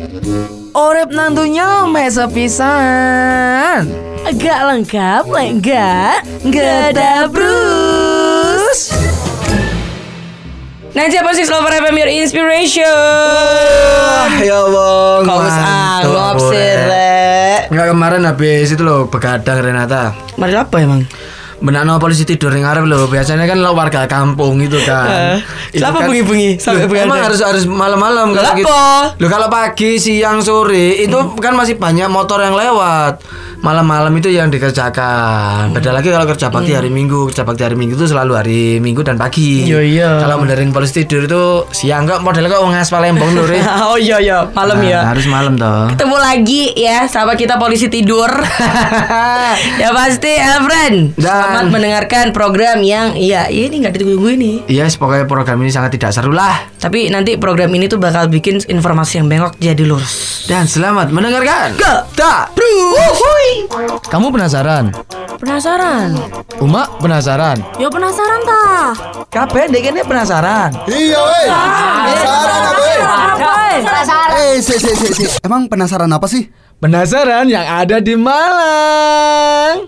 Orep nantunya mesa pisan. Agak lengkap, enggak ada Bruce. Najwa Posik Lover FM Your Inspiration. Ya bang, Kau anggap sih, Enggak, kemarin habis itu loh begadang Renata. Mari apa emang? Benakno polisi tidur yang ngarep loh. Biasanya kan lo warga kampung itu kan. Siapa bengi-bengi sampai begadang? Emang harus malam-malam kalau gitu. Loh, kalau pagi, siang, sore itu kan masih banyak motor yang lewat. Malam-malam itu yang dikerjakan. Beda lagi kalau kerja bakti hari Minggu. Kerja bakti hari Minggu itu selalu hari Minggu dan pagi. Iya. Kalau benerin polisi tidur itu siang kok, modelnya kok ngas Palembang lho. Oh iya, malam ya. Harus malam toh. Ketemu lagi ya sama kita polisi tidur. Ya pasti Elfriend. Selamat mendengarkan program yang ini nggak ditunggu ini. Iya, pokoknya program ini sangat tidak seru lah. Tapi nanti program ini tuh bakal bikin informasi yang bengkok jadi lurus. Dan selamat mendengarkan. Kamu penasaran? Penasaran? Uma penasaran? Yo penasaran ta? Kabeh ndek kene penasaran. Iya, weh. Penasaran apa, weh? Si. Emang penasaran apa sih? Penasaran yang ada di Malang.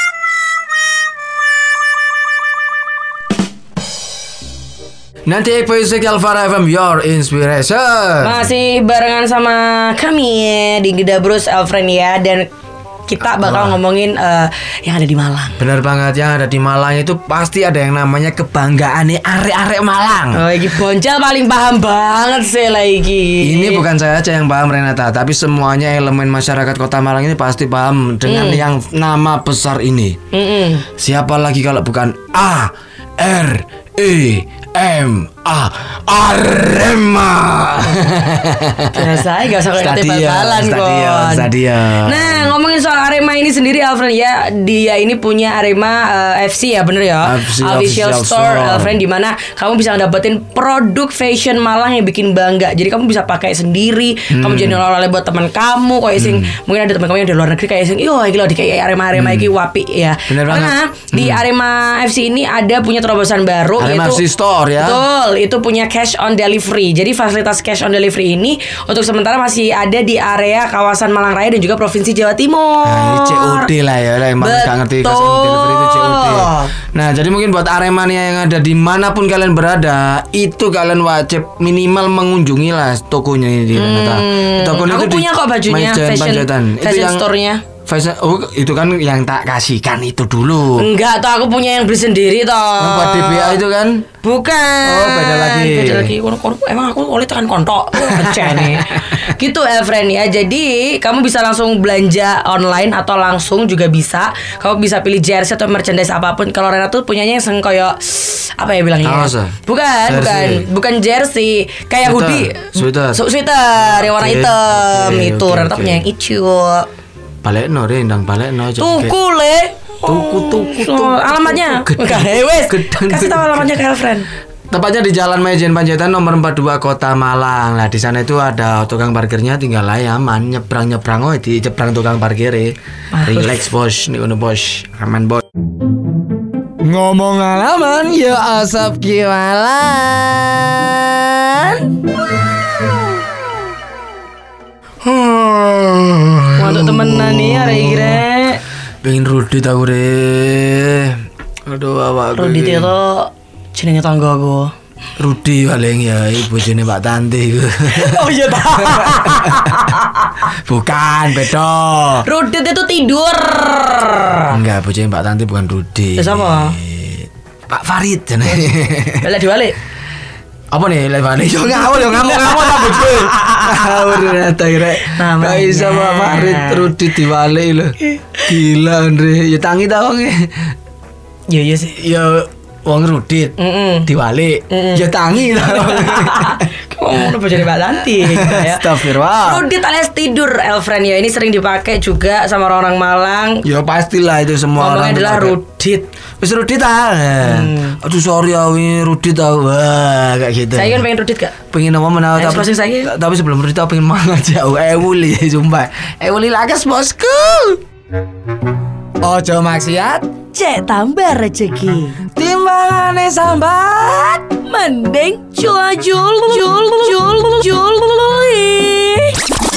Nanti Posik Alvara FM Your Inspiration. Masih barengan sama kami di Geda Bruce Elfriend ya. Dan kita bakal ngomongin yang ada di Malang. Bener banget, yang ada di Malang itu pasti ada yang namanya kebanggaan nih arek-arek Malang. Oh, iki Bonjal paling paham banget sih lagi. Ini bukan saya aja yang paham Renata, tapi semuanya elemen masyarakat Kota Malang ini pasti paham dengan yang nama besar ini. Siapa lagi kalau bukan AREMA, Arema. Saya gak usah kayak bal-balan Stadion. Nah, ngomongin soal Arema ini sendiri Alfriend ya, dia ini punya Arema FC ya, bener ya? Official Store Alfriend, dimana kamu bisa dapetin produk fashion Malang yang bikin bangga. Jadi kamu bisa pakai sendiri, kamu jadi oleh-oleh buat teman kamu. Kayak sing mungkin ada teman kamu yang di luar negeri kayak sing, yo iki lho di kayak Arema iki wapi ya. Bener Karena banget. di Arema FC ini ada punya terobosan baru, Arema yaitu FC Store ya. Betul, itu punya cash on delivery. Jadi fasilitas cash on delivery ini untuk sementara masih ada di area kawasan Malang Raya dan juga Provinsi Jawa Timur. Nah, ini COD lah ya, yang nggak ngerti cash on delivery itu COD. Nah, jadi mungkin buat Aremania yang ada dimanapun kalian berada, itu kalian wajib minimal mengunjungi lah tokonya ini di Renata. Tokonya Aku itu punya kok bajunya fashion store-nya. Oh, itu kan yang tak kasihkan itu dulu. Enggak, toh aku punya yang beli sendiri toh. Yang buat DBA itu kan? Bukan. Oh, beda lagi. Emang aku oleh tekan kontok. Pecah nih. Gitu Elfriend ya. Jadi kamu bisa langsung belanja online atau langsung juga bisa. Kamu bisa pilih jersey atau merchandise apapun. Kalau Rena tuh punyanya yang koyo apa ya bilangnya? Bukan jersey. Kayak hoodie. Sweater yang warna hitam. Itu Rena punya yang hijau. Balekno rendang balekno aja. Tuku. Alamatnya. Kasih tahu alamatnya ke Elfriend. Tepatnya di Jalan Majen Panjaitan nomor 42 Kota Malang. Nah, di sana itu ada tukang parkirnya, tinggal aman nyebrang di nyebrang tukang parkir. Relax bos, nih ono bos, aman bos. Ngomong alaman ya asap kiwalan. Untuk temenan nih hari kira. Pengen Rudi tau re. Aduh awak. Rudi itu jenenge tanggaku. Rudi paling ya ibu jenenge Mbak Tanti. Oh iya ta. Bukan, beda. Rudi itu tidur. Enggak, bojone Mbak Tanti bukan Rudi. Sama Pak Farid jenenge. Balik diwalik. Apa nih lewat yo ngawur tak bojo. Ngawur ta rek. Enggak bisa Pak Farid Rudi diwalik lho. Gila Andre, ya tangi ta wong. Iya sih. Ya wong Rudit diwalik. Ya tangi ta. Kamu udah jadi Mbak Tanti ya. Astagfirullah. Rudit alias tidur Elfriend ya. Ini sering dipakai juga sama orang-orang Malang. Ya pastilah itu semua ngomongnya orang adalah Rudit. Wis Rudit ah. Aduh sorry awi Rudit ah. Wah kayak gitu. Saya kan pengen Rudit gak? Pengen apa menawar tapi sebelum Rudit aku pengen mangan jauh. Wuli sumpah. Wuli lakas bosku. Ojo maksiat, cek tambah rezeki. Timbangane sambat, mending jul.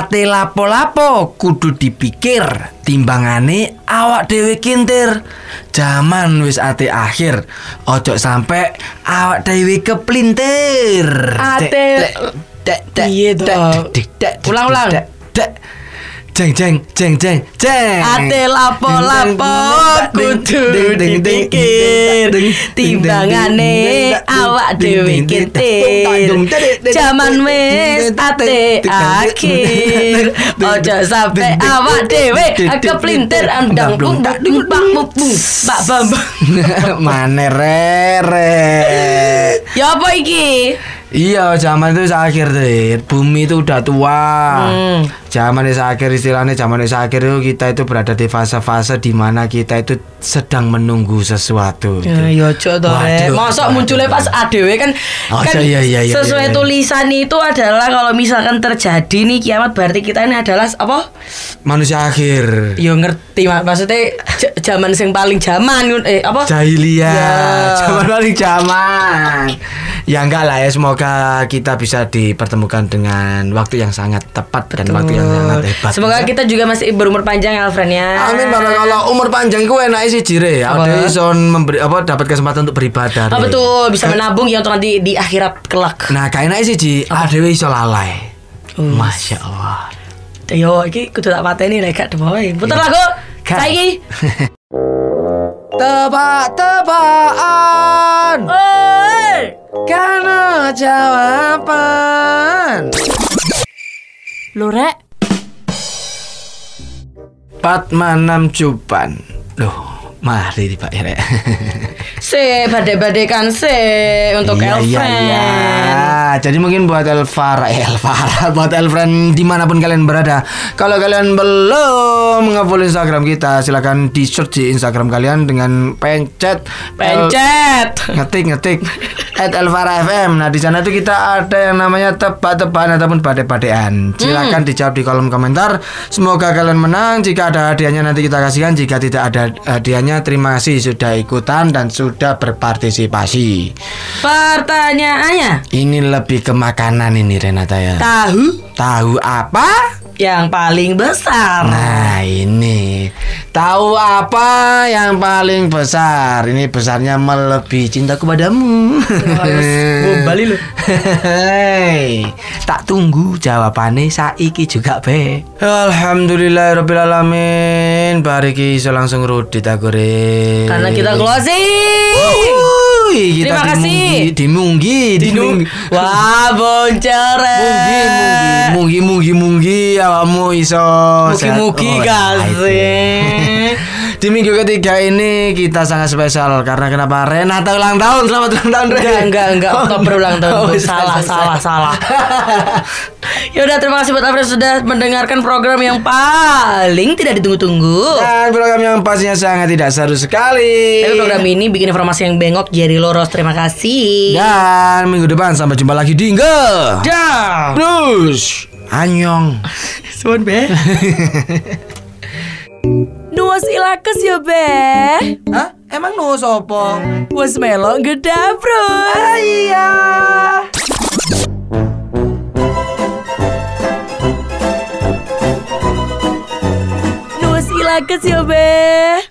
ate lapo-lapo kudu dipikir, timbangane awak dhewe kintir. Jaman wis ate akhir, ojo sampe awak dhewe keplintir. Ate- Iya dong. Ulang. Jeng jeng jeng jeng jeng. Ate lapo-lapo kudu dipikir, timbangane awak dhewe kintir. Jaman wis ate akhir, ojo sampe awak dhewe keplintir. Andang bung bak bung bak bambang. Mane rere. Ya apa iki? Iya, zaman itu akhir deh. Bumi itu udah tua. Zaman itu akhir, istilahnya zaman itu akhir itu kita itu berada di fase-fase di mana kita itu sedang menunggu sesuatu. Ya ojo to, Rek. Mosok munculnya pas ADW kan iya, sesuai iya. tulisan itu adalah kalau misalkan terjadi nih kiamat berarti kita ini adalah apa? Manusia akhir. Yo ngerti maksudnya zaman sing paling zaman apa? Jahiliyah. Ya. Zaman paling zaman. Ya enggak lah ya, semoga kita bisa dipertemukan dengan waktu yang sangat tepat dan waktu yang sangat hebat. Semoga kita juga masih berumur panjang ya, Alfred ya. Amin. Kalau umur panjang gue enak sih jire. Ada ison memberi dapat kesempatan untuk beribadah. Oh betul, bisa menabung ya untuk nanti di akhirat kelak. Nah, kayak enak sih ji. Ada iso lalai. Masya Allah. Yo, iki kudu tak pateni nek gak demoe. Puter lagu. Saiki. Tebak-tebakan. Oi. Karena jawaban. Lho, Rek. Patmanam Cupan. Loh, mari Pak ya. Badai-badaikan untuk Elfriend. Iya. Jadi mungkin buat Elvara, buat Elfriend dimanapun kalian berada. Kalau kalian belum nge-follow Instagram kita, silakan di search di Instagram kalian dengan pencet ngetik @elvara_fm. Nah, di sana itu kita ada yang namanya tebak-tebakan ataupun badai-badaian. Silakan dijawab di kolom komentar. Semoga kalian menang. Jika ada hadiahnya nanti kita kasihkan. Jika tidak ada hadiahnya, terima kasih sudah ikutan dan sudah berpartisipasi. Pertanyaannya, Ini lebih ke makanan ini Renata ya. Tahu apa? yang paling besar. Nah, ini tahu apa yang paling besar? Ini besarnya melebihi cintaku padamu. Bali lu. Hei, tak tunggu jawabannya saiki juga be. Alhamdulillahirabbil alamin. Bariki iso langsung rudi tak goreng. Karena kita closing. Kita Terima kasih. Dimunggi. Wah, boncere. Munggi awakmu iso. Mugi-mugi kasih. Di minggu ketiga ini kita sangat spesial karena kenapa? Renata ulang tahun. Selamat ulang tahun, Ren. Enggak, Oktober ulang tahun. Salah. Ya udah, terima kasih buat Alfred sudah mendengarkan program yang paling tidak ditunggu-tunggu. Dan program yang pastinya sangat tidak seru sekali. Tapi program ini bikin informasi yang bengok jadi loros. Terima kasih. Dan minggu depan sampai jumpa lagi di Nge. Dah. Terus Anyong. Suwun be. Nuwas ilakes ya be. Hah? Emang no sopo? Wes melok gedabro. Iya. Nuwas ilakes ya be.